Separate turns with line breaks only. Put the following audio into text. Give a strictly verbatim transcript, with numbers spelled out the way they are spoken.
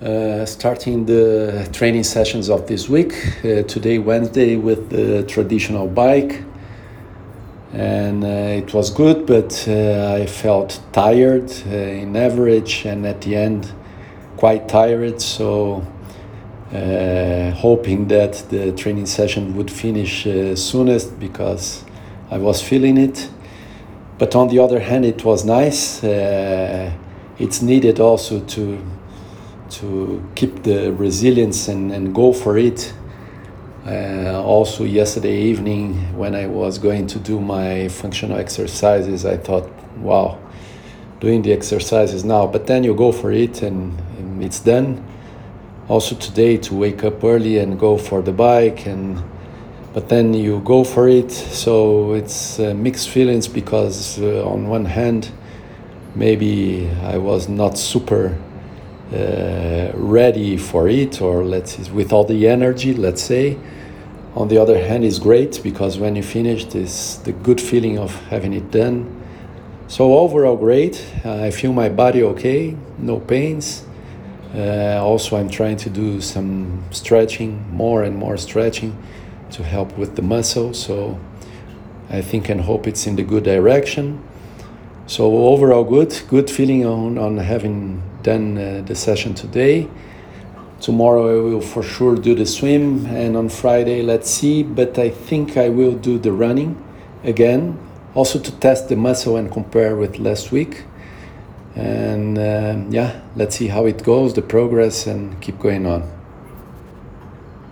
Uh, starting the training sessions of this week. Uh, today, Wednesday, with the traditional bike. And uh, it was good, but uh, I felt tired uh, in average, and at the end, quite tired. So, uh, hoping that the training session would finish uh, soonest, because I was feeling it. But on the other hand, it was nice. Uh, it's needed also to to keep the resilience and, and go for it. Uh, also yesterday evening, when I was going to do my functional exercises, I thought, wow, doing the exercises now, but then you go for it and, and it's done. Also today, to wake up early and go for the bike, and but then you go for it. So it's uh, mixed feelings, because uh, on one hand, maybe I was not super Uh, ready for it, or let's say with all the energy, let's say. On the other hand, it's great, because when you finish, it's the good feeling of having it done. So overall great. uh, I feel my body okay, no pains. Uh, also, I'm trying to do some stretching, more and more stretching, to help with the muscle. So I think and hope it's in the good direction. So overall good, good feeling on, on having done uh, the session today. Tomorrow I will for sure do the swim, and on Friday, let's see, but I think I will do the running again, also to test the muscle and compare with last week. And uh, yeah, let's see how it goes, the progress, and keep going on.